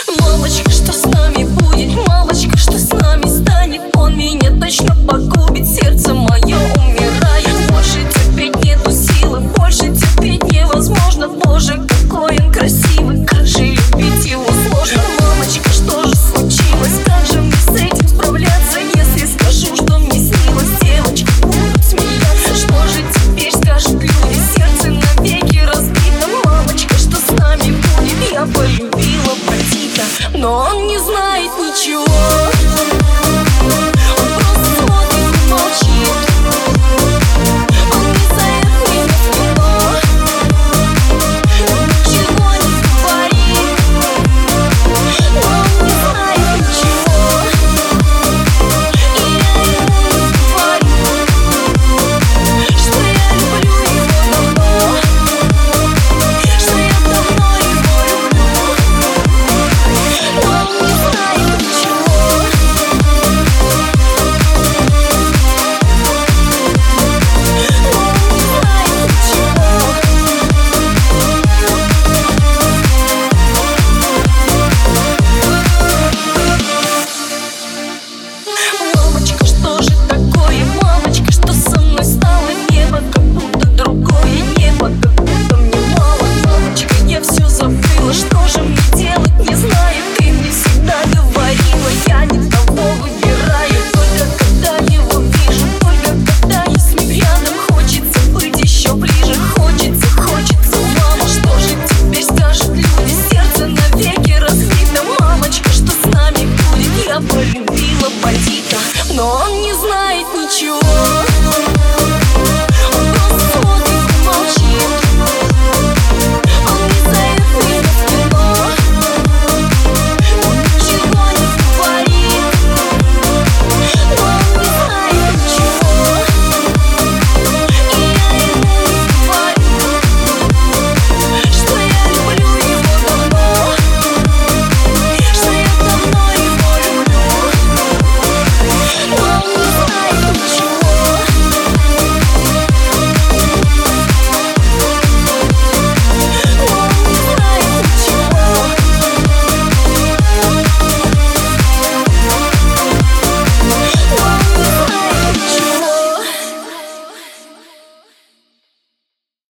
Мамочка, что с нами будет? Мамочка, что с нами станет? Он меня точно погубит, сердце мое умирает. Больше терпеть нету силы, больше терпеть невозможно. Боже, какой он красивый, как же любить его сложно. Мамочка, что же случилось? Как же мне с этим справляться? Если скажу, что мне снилось, девочки будут смеяться. Что же теперь скажут люди? Сердце навеки разбито. Мамочка, что с нами будет? Я полюбила бандита, но он не знает ничего. Он просто смотрит и молчит. Он не зовет меня в кино, ничего не говорит, но он не знает ничего. И я ему не говорю, что я люблю его давно, что я давно его люблю, но он не знает ничего. Мамочка, что же такое? Мамочка, что со мной стало? Небо как будто другое, небо как будто мне мало. Мамочка, я все забыла, что же мне делать, не знаю.